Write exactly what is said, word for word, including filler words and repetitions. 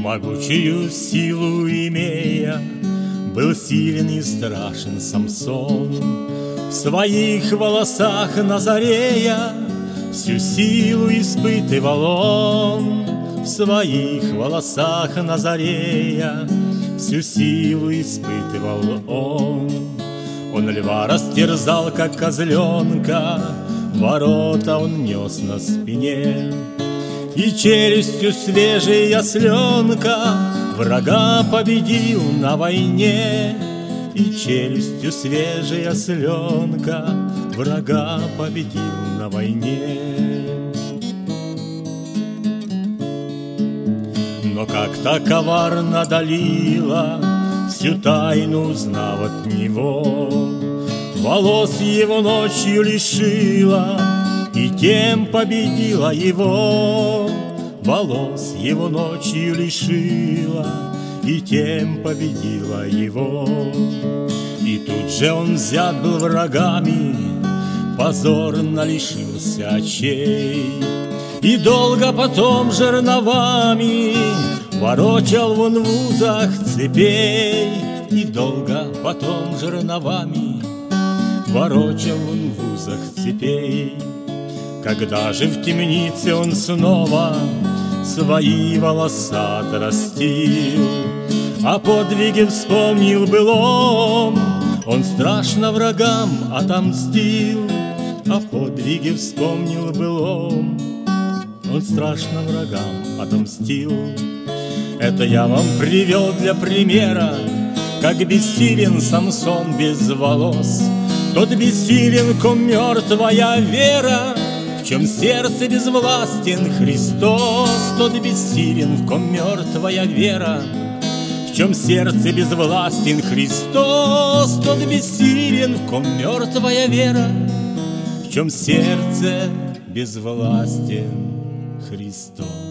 Могучую силу имея, был силен и страшен Самсон. В своих волосах Назарея всю силу испытывал он. В своих волосах Назарея всю силу испытывал он. Он льва растерзал, как козленка, ворота он нес на спине. И челюстью свежей осленка врага победил на войне. И челюстью свежей осленка врага победил на войне. Но как-то коварно Далила, всю тайну узнав от него, волос его ночью лишила и тем победила его. Волос его ночью лишила и тем победила его. И тут же он взят был врагами, позорно лишился очей. И долго потом жерновами ворочал он в узах цепей. И долго потом жерновами ворочал он в узах цепей. Когда же в темнице он снова свои волоса отрастил, о подвиге вспомнил былом, он страшно врагам отомстил. О подвиге вспомнил былом, он страшно врагам отомстил. Это я вам привел для примера, как бессилен Самсон без волос. Тот бессилен, ком мертвая вера, в чем сердце безвластен Христос. Тот бессилен, в ком мертвая вера, в чем сердце безвластен Христос. Тот бессилен, в ком мертвая вера, в чем сердце безвластен Христос.